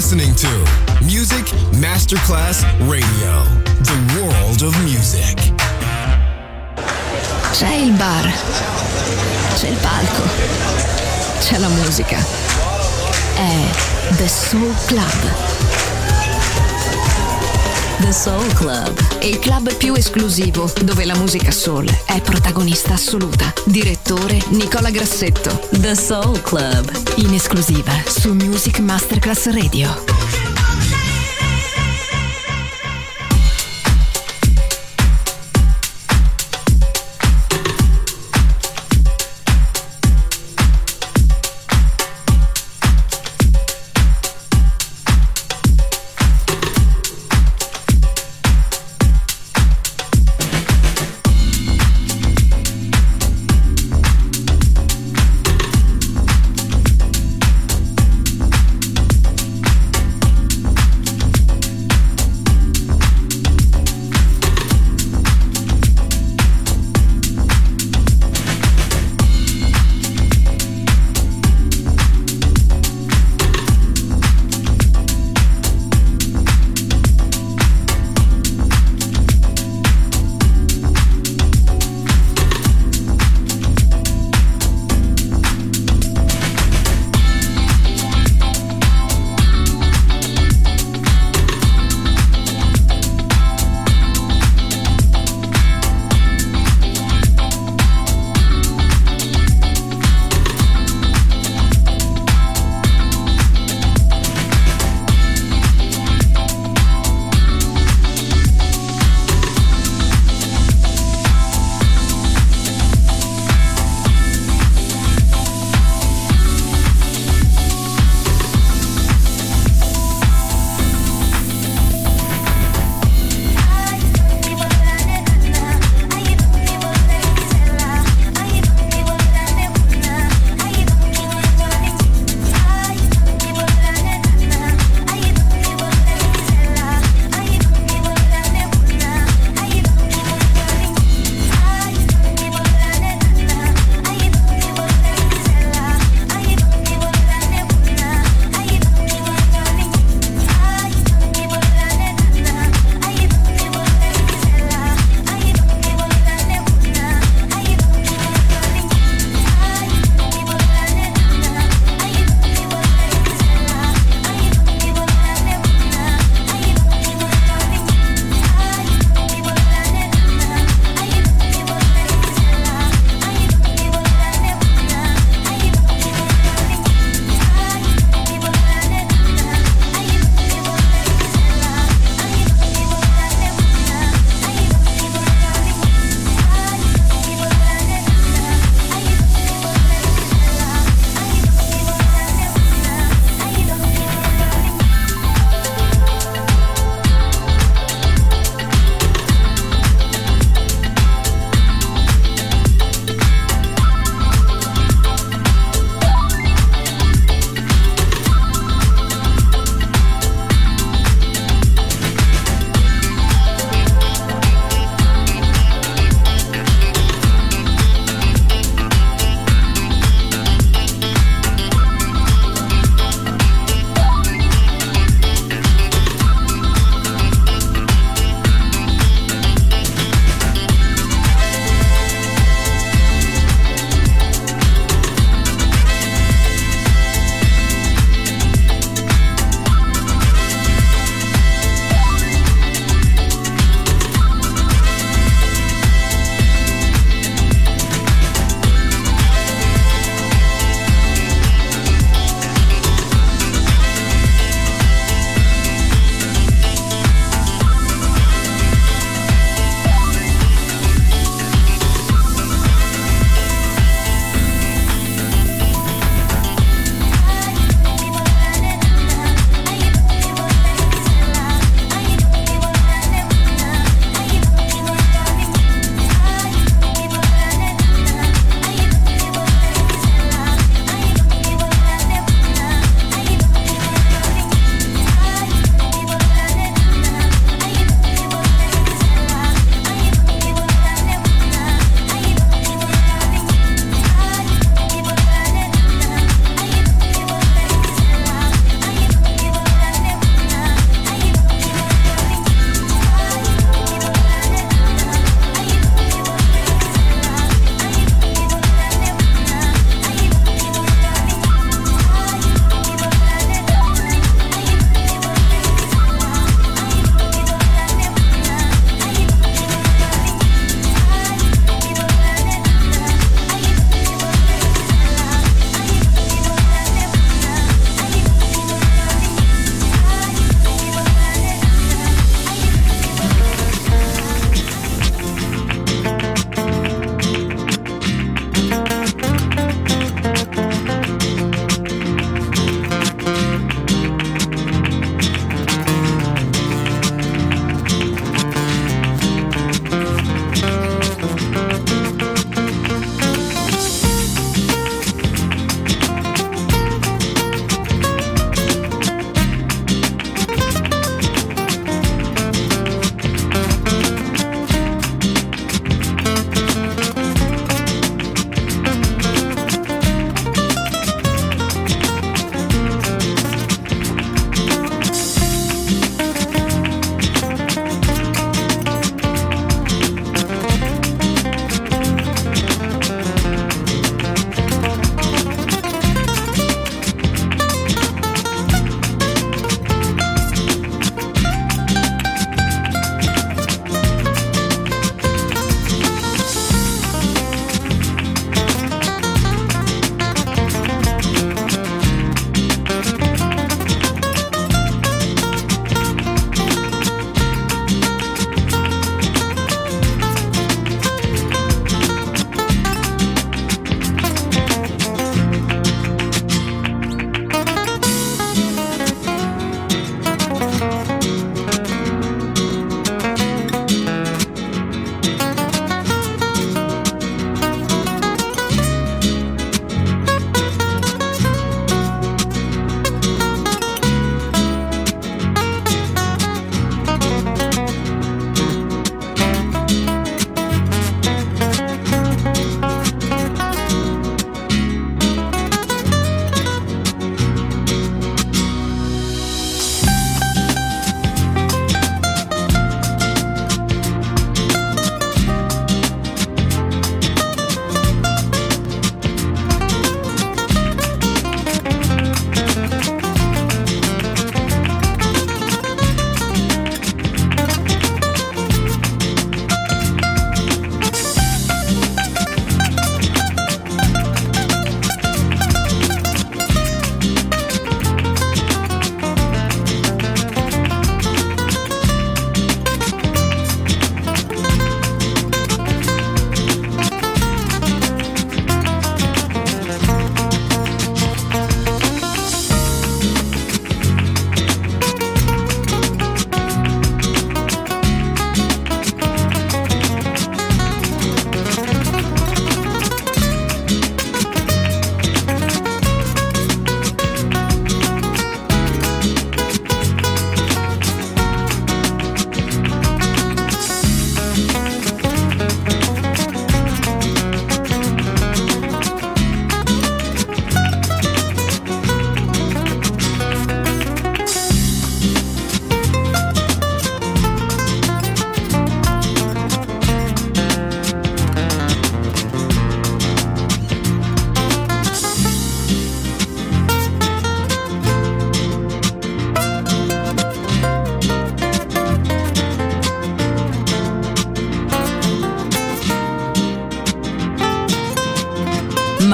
listening to Music Masterclass Radio, the world of music. C'è il bar, c'è il palco, c'è la musica. È The Soul Club. The Soul Club, il club più esclusivo dove la musica soul è protagonista assoluta. Direttore Nicola Grassetto. The Soul Club, in esclusiva su Music Masterclass Radio.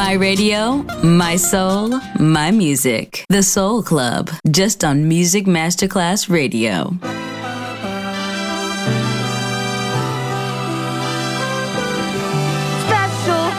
My radio, my soul, my music. The Soul Club, just on Music Masterclass Radio. Special.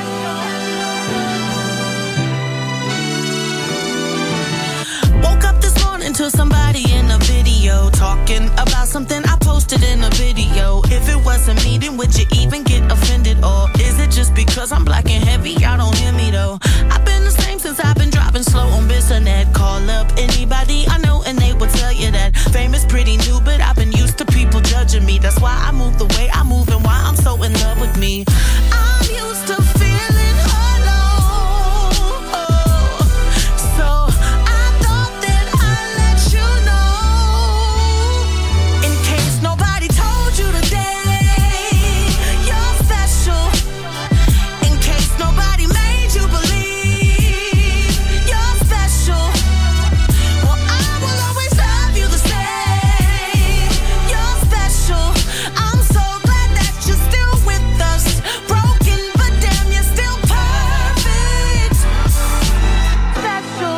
Woke up this morning to somebody in a video talking about something I posted in a video. If it wasn't me, then would you even get offended? Or is it just because I'm black and heavy, y'all don't hear me though? I've been the same since I've been driving slow on Bissonnet. Call up anybody I know and they will tell you that fame is pretty new, but I've been used to people judging me. That's why I move the way I move and why I'm so in love with me. I'm used to feeling alone, so I thought that I'd let you know, in case nobody told you today, you're special. In case nobody made you believe you're special, well, I will always love you the same. You're special. I'm so glad that you're still with us. Broken, but damn, you're still perfect. Special.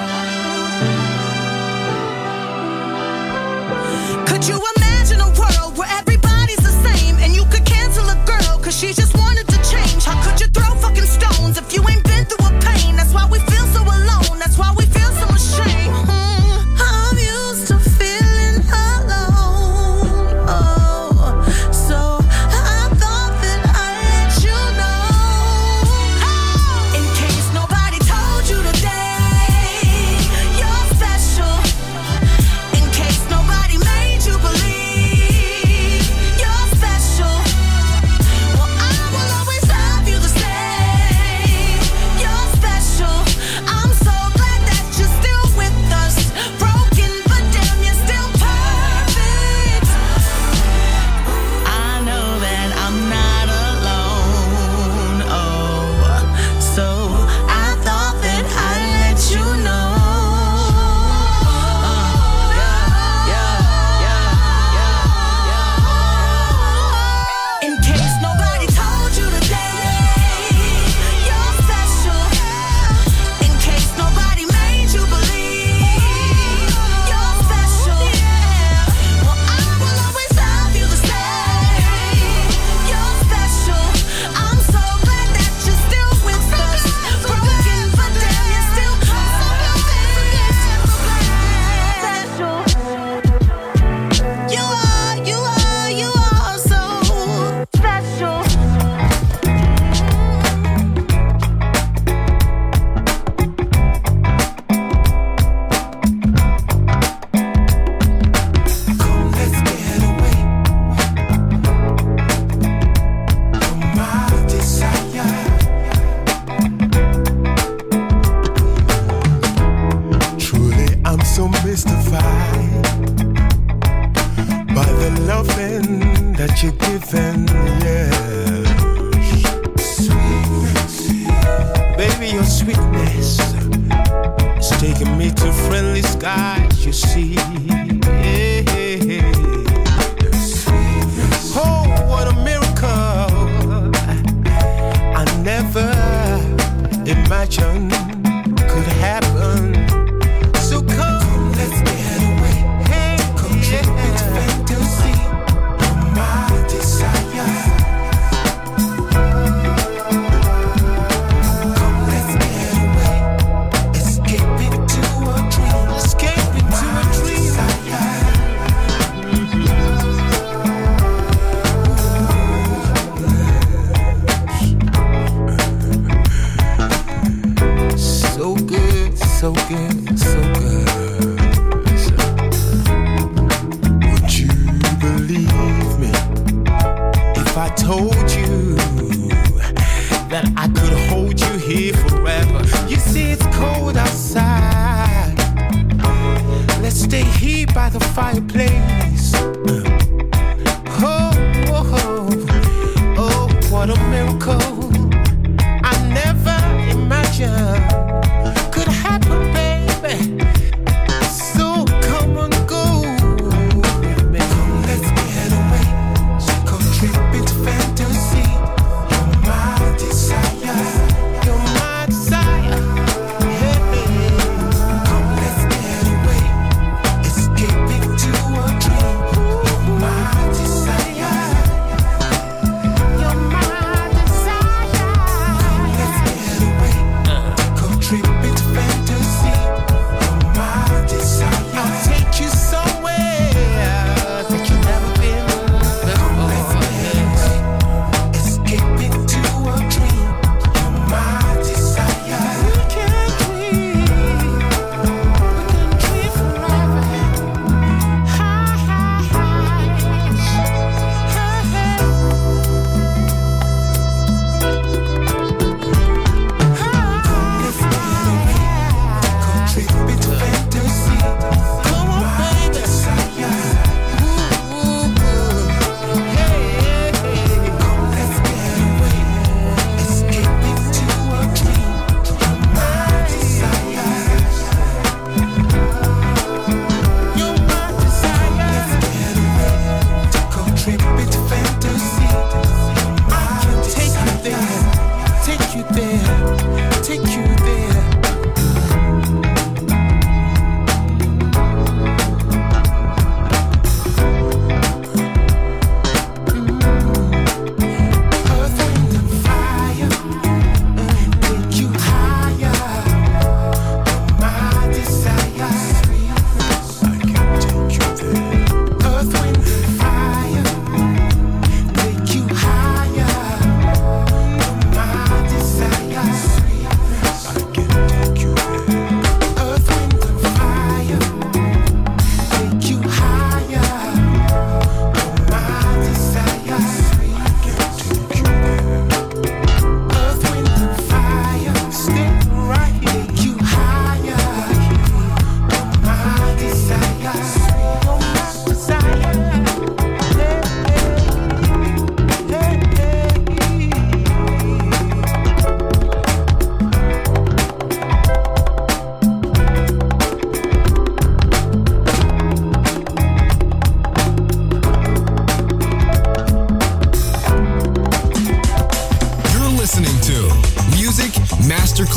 Could you imagine a world where everybody's the same and you could cancel a girl cause she just wanted to change? How could you throw fucking stones if you ain't been through a pain? That's why we feel so alone, that's why we feel so ashamed. I'm used to feeling alone, so I thought that I'd let you know, in case nobody told you today, you're special. In case nobody made you believe you're special, well, I will always love you the same. You're special. I'm so glad that you're still with us. Broken, but damn, you're still perfect. I know that I'm not alone, so I thought that I'd let you know. In case nobody told you today, you're special. In case nobody made you believe you're special, well, I will always love you the same. You're special. I'm so glad that you're still with us. Broken, but damn, you're still special. You are so special. Come, let's get away from my desire. Truly, I'm so mystified by the loving that you're giving, yes. Baby, your sweetness is taking me to friendly skies, you see. Oh, what a miracle I never imagined could happen. So come, let's get away. Hey, come trip into fantasy of my desire. Come, let's get away. Escape into a dream. Escape into a dream. So good, so good, so good. Would you believe me if I told you that I could hold you here forever? You see, it's cold outside. Let's stay here by the fireplace. Oh, oh, oh, oh, what a miracle I never imagined could happen, baby. So come and go with me. Come, let's get away. So come trip into fantasy. You're my desire. You're my desire.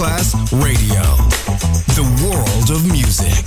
Masterclass Radio. The world of music.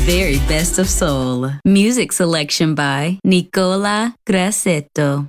very best of soul. Music selection by Nicola Grassetto.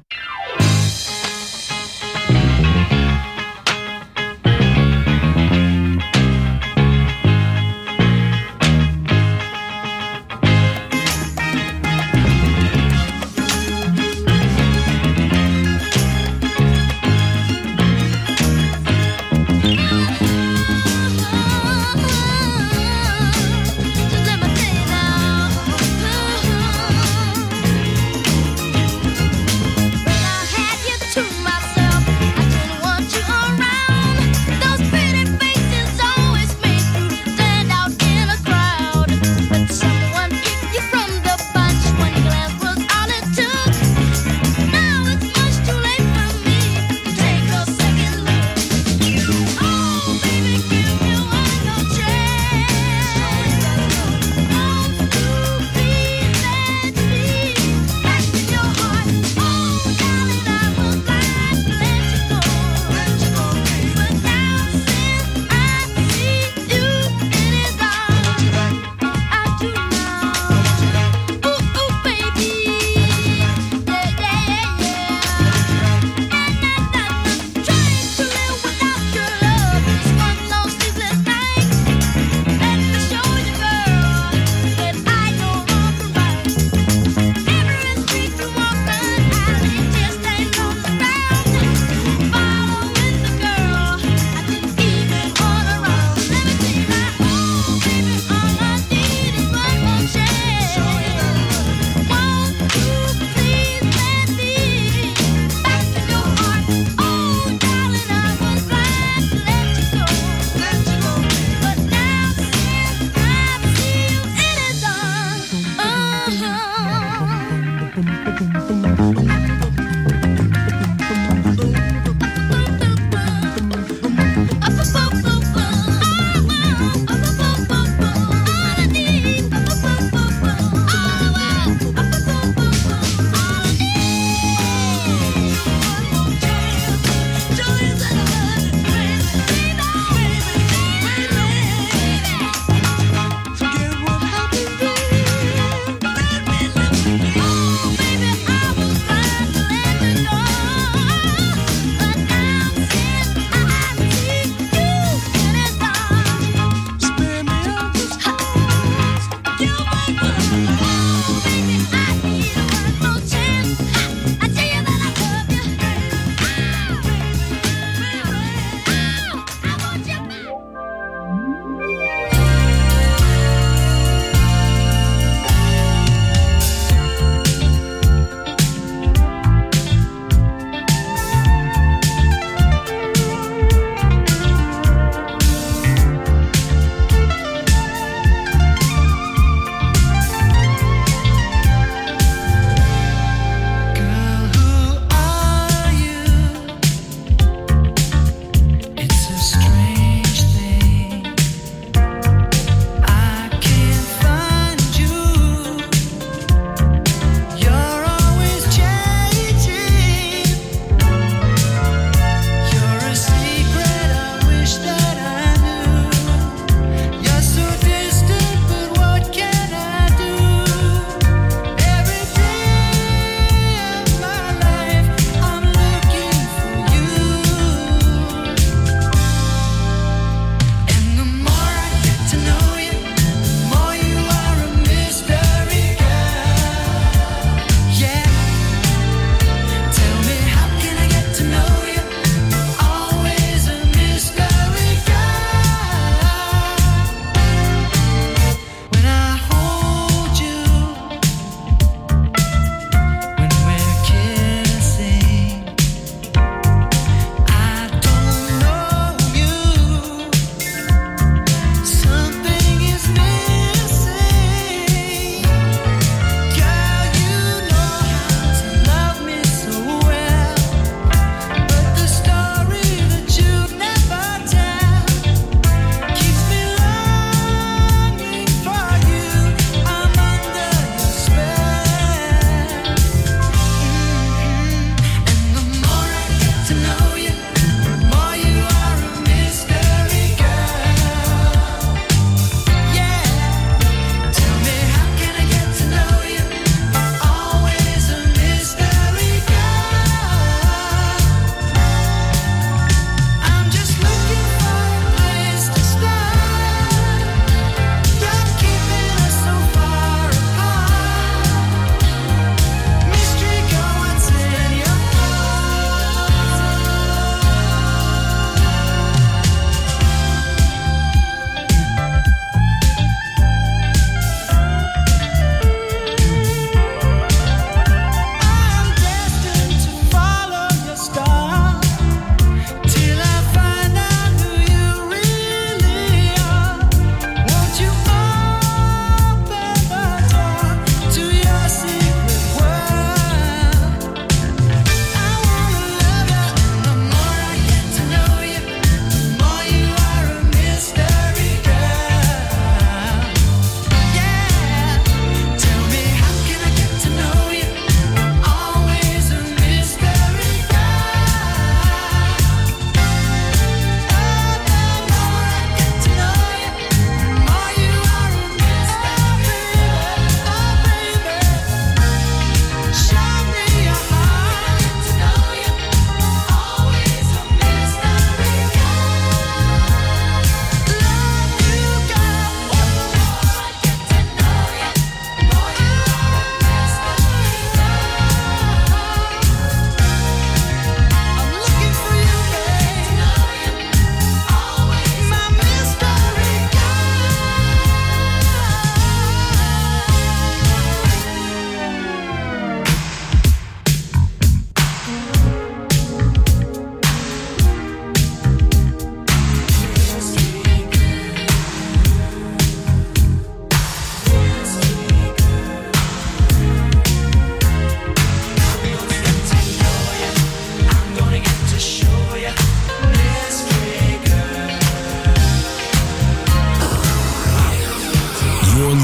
Let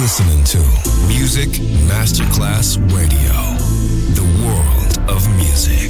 listening to Music Masterclass Radio, the world of music.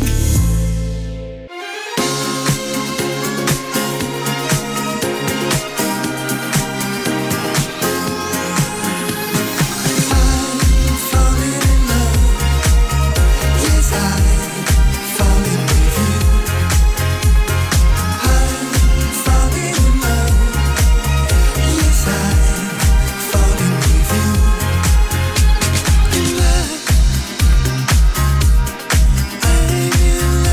In love.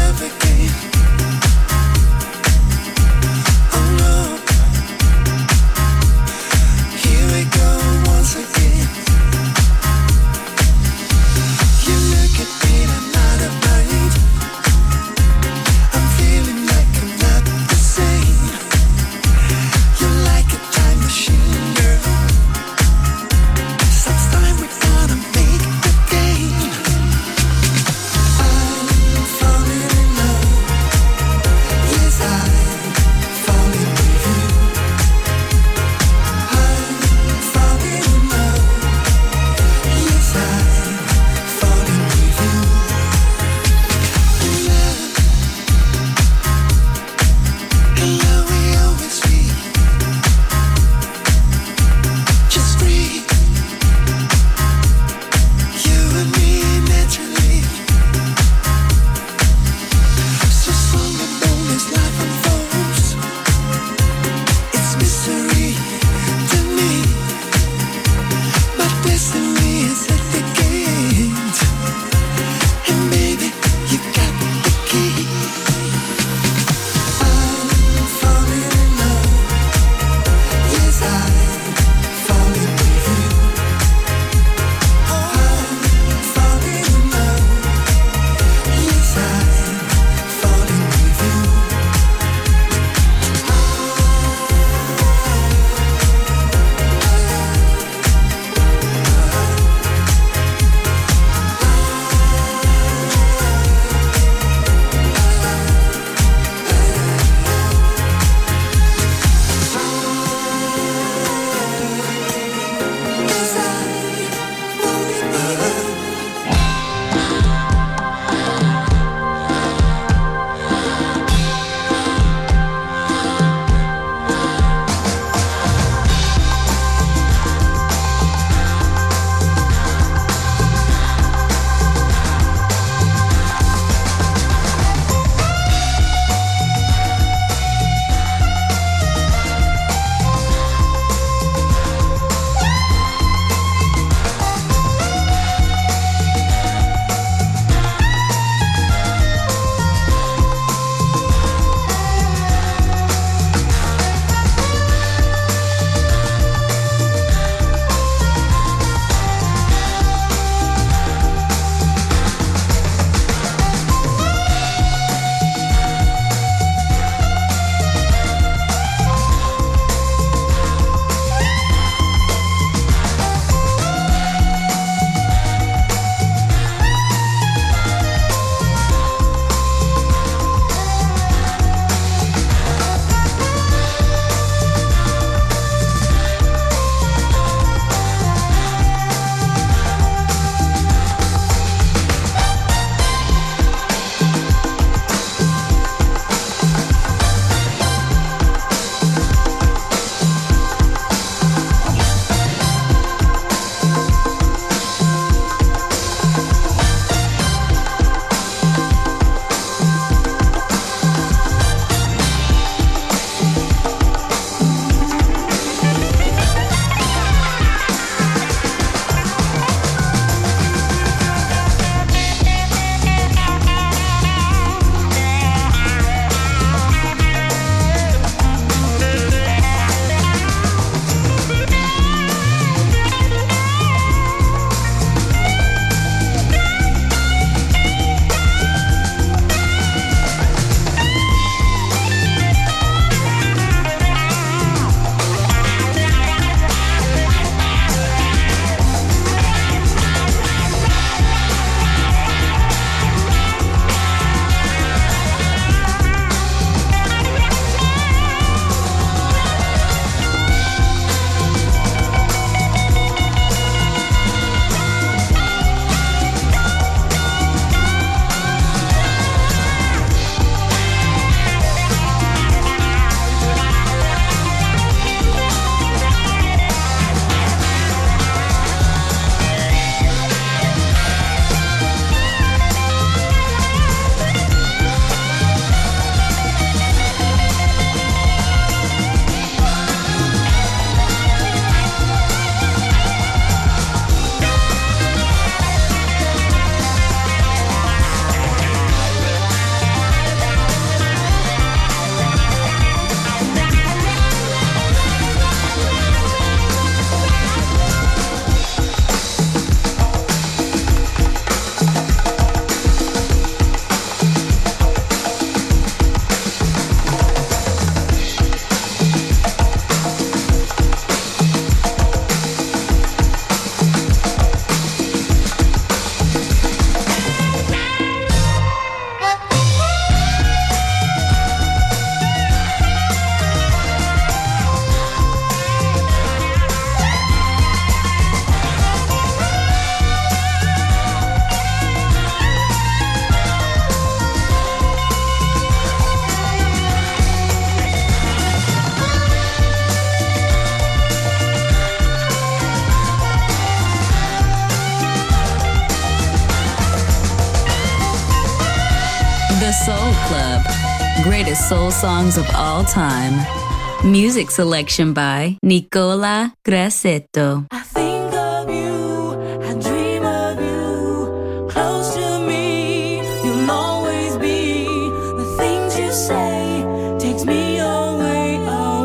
Club. Greatest soul songs of all time. Music selection by Nicola Grassetto. I think of you, I dream of you, close to me, you'll always be. The things you say takes me away,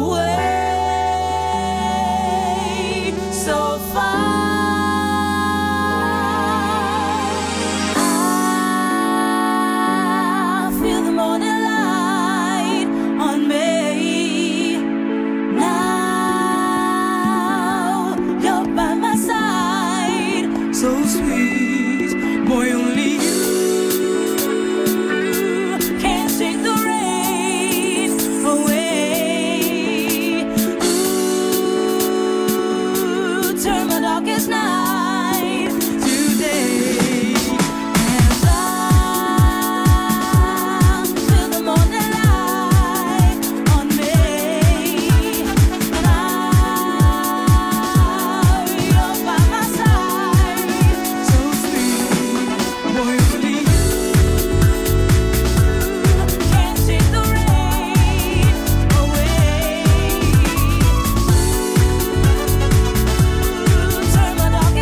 away, so far. I feel the morning light on me. Now you're by my side, so sweet, boy, only you can take the rain away. Ooh, turn my darkest night today. And I feel the morning light on me. You're by my side, so sweet, boy, only you can take the rain away. Turn my darkest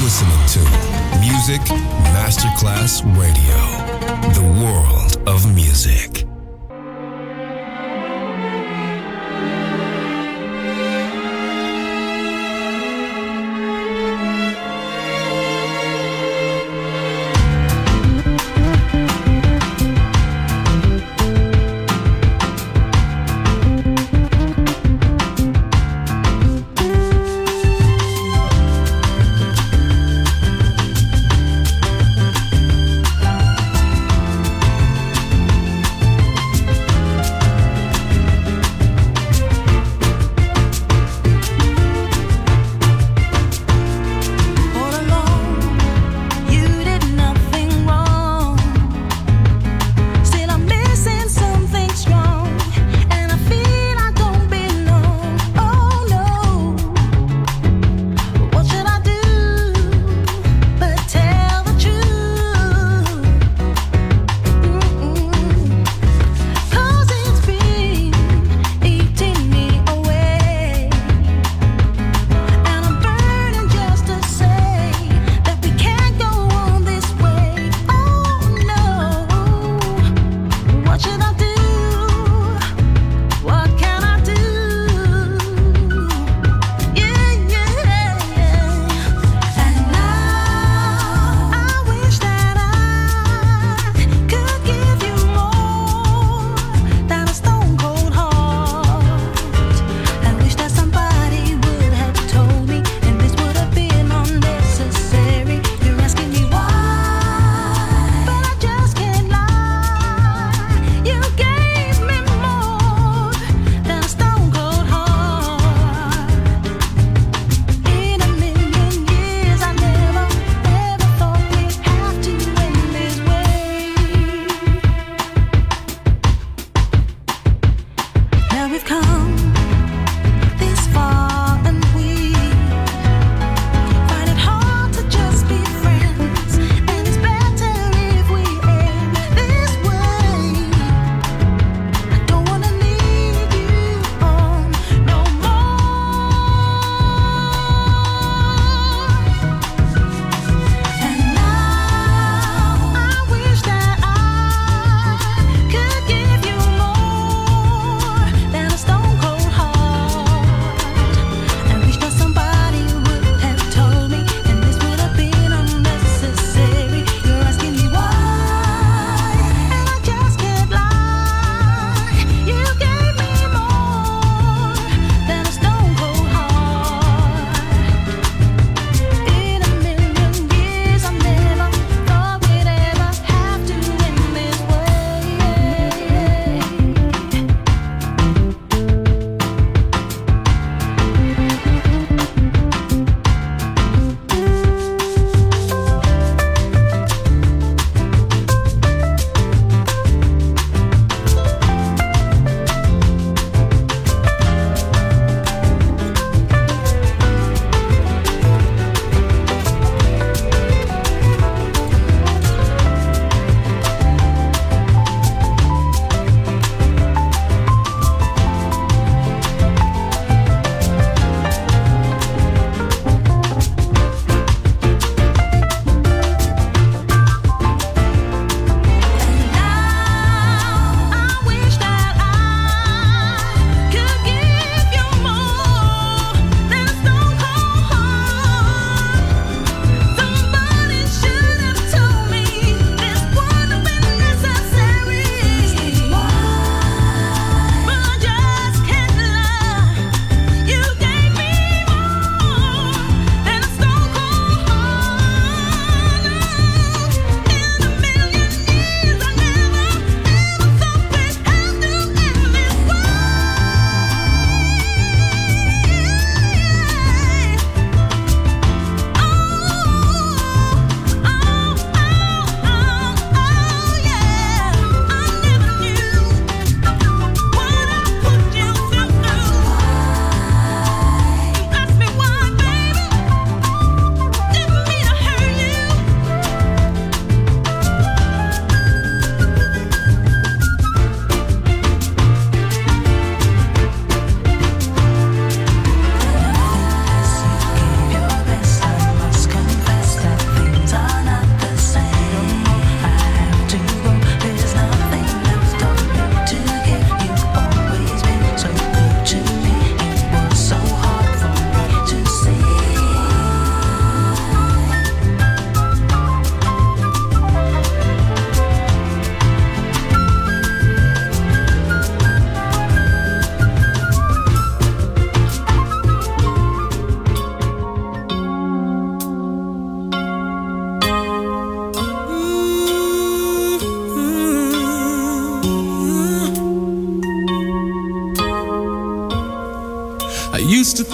listening to Music Masterclass Radio, the world of music.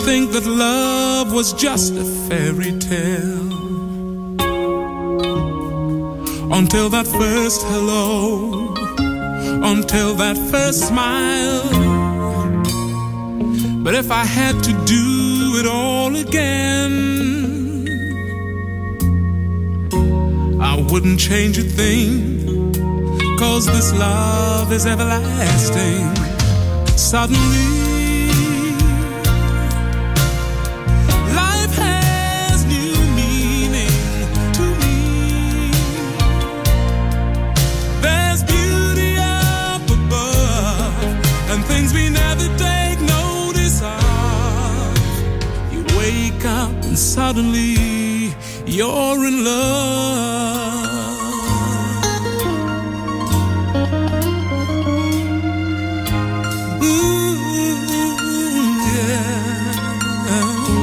think that love was just a fairy tale, until that first hello, until that first smile. But if I had to do it all again, I wouldn't change a thing, 'cause this love is everlasting. Suddenly suddenly you're in love. Ooh, yeah.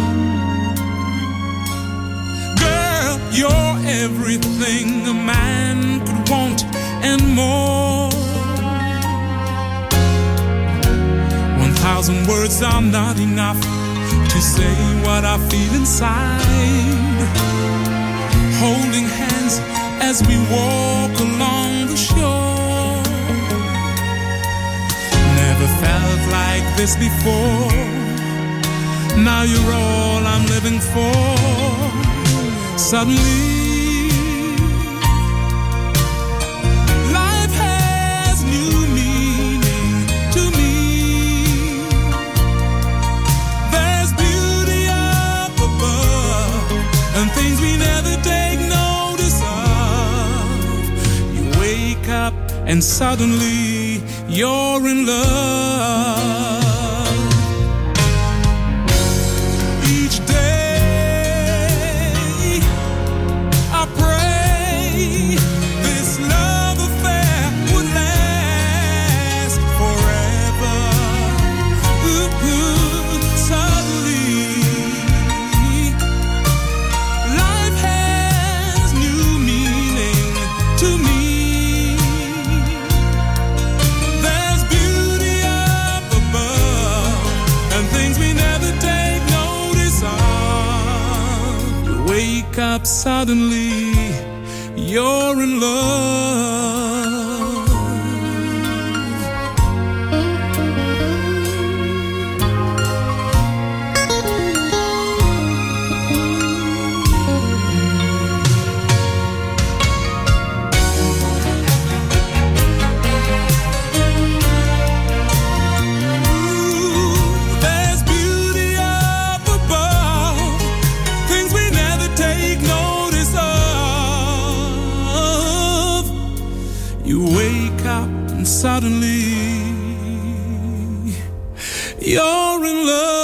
Girl, you're everything a man could want and more. 1,000 words are not enough to say what I feel inside. Holding hands as we walk along the shore. Never felt like this before. Now you're all I'm living for. Suddenly life has new meaning to me. And things we never take notice of. You wake up and suddenly you're in love. Each day I pray this love affair would last forever. Ooh, suddenly up suddenly you're in love. Suddenly, you're in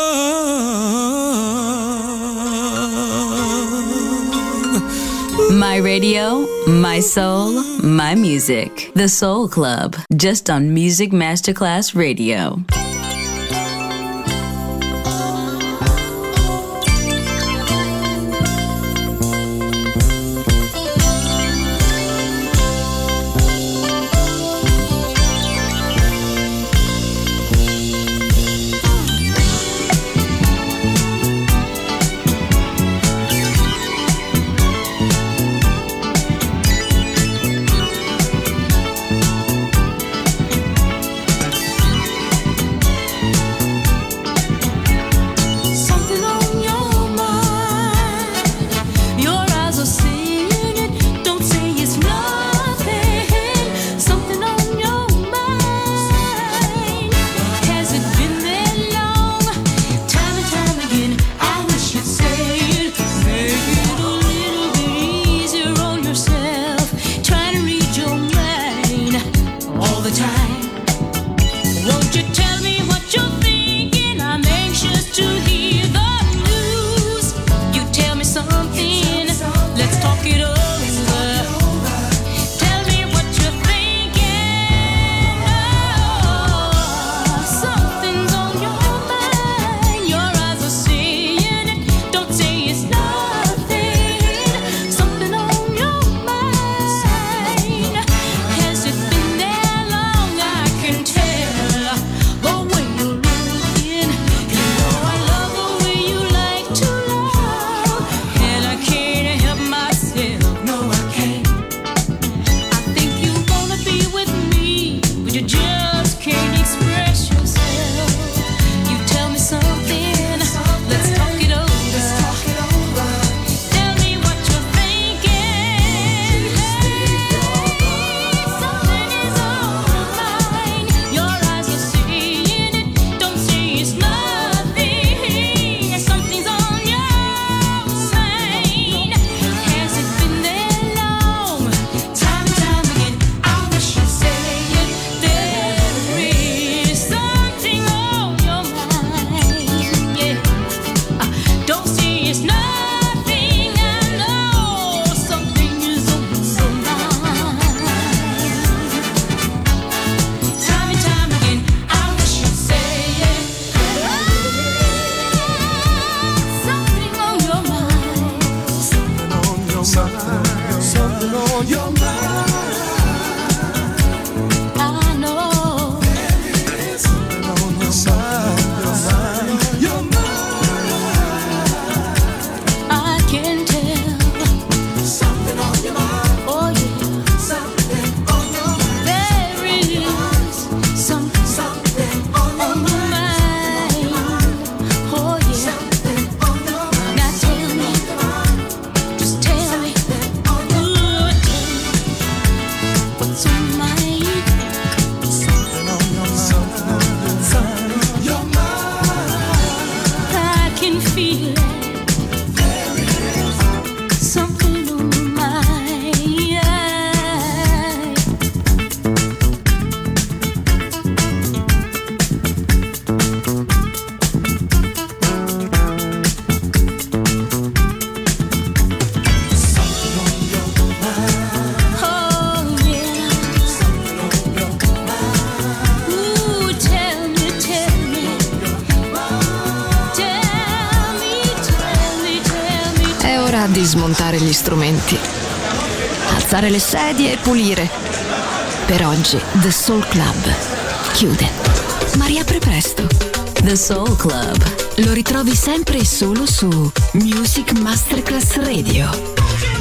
love. My radio, my soul, my music. The Soul Club, just on Music Masterclass Radio. something on your mind. I know there is something on your mind, your mind. I can tell Something on your mind, oh yeah something on your mind. there is something Something on your on my mind oh yeah something on your mind. now tell me just tell me what's on my mind. Something on your mind, something on your mind. I can feel it. Something on my mind. Oh yeah. Ooh, tell me. È ora di smontare gli strumenti, alzare le sedie e pulire. Per oggi The Soul Club chiude, ma riapre presto. The Soul Club. Lo ritrovi sempre e solo su Music Masterclass Radio.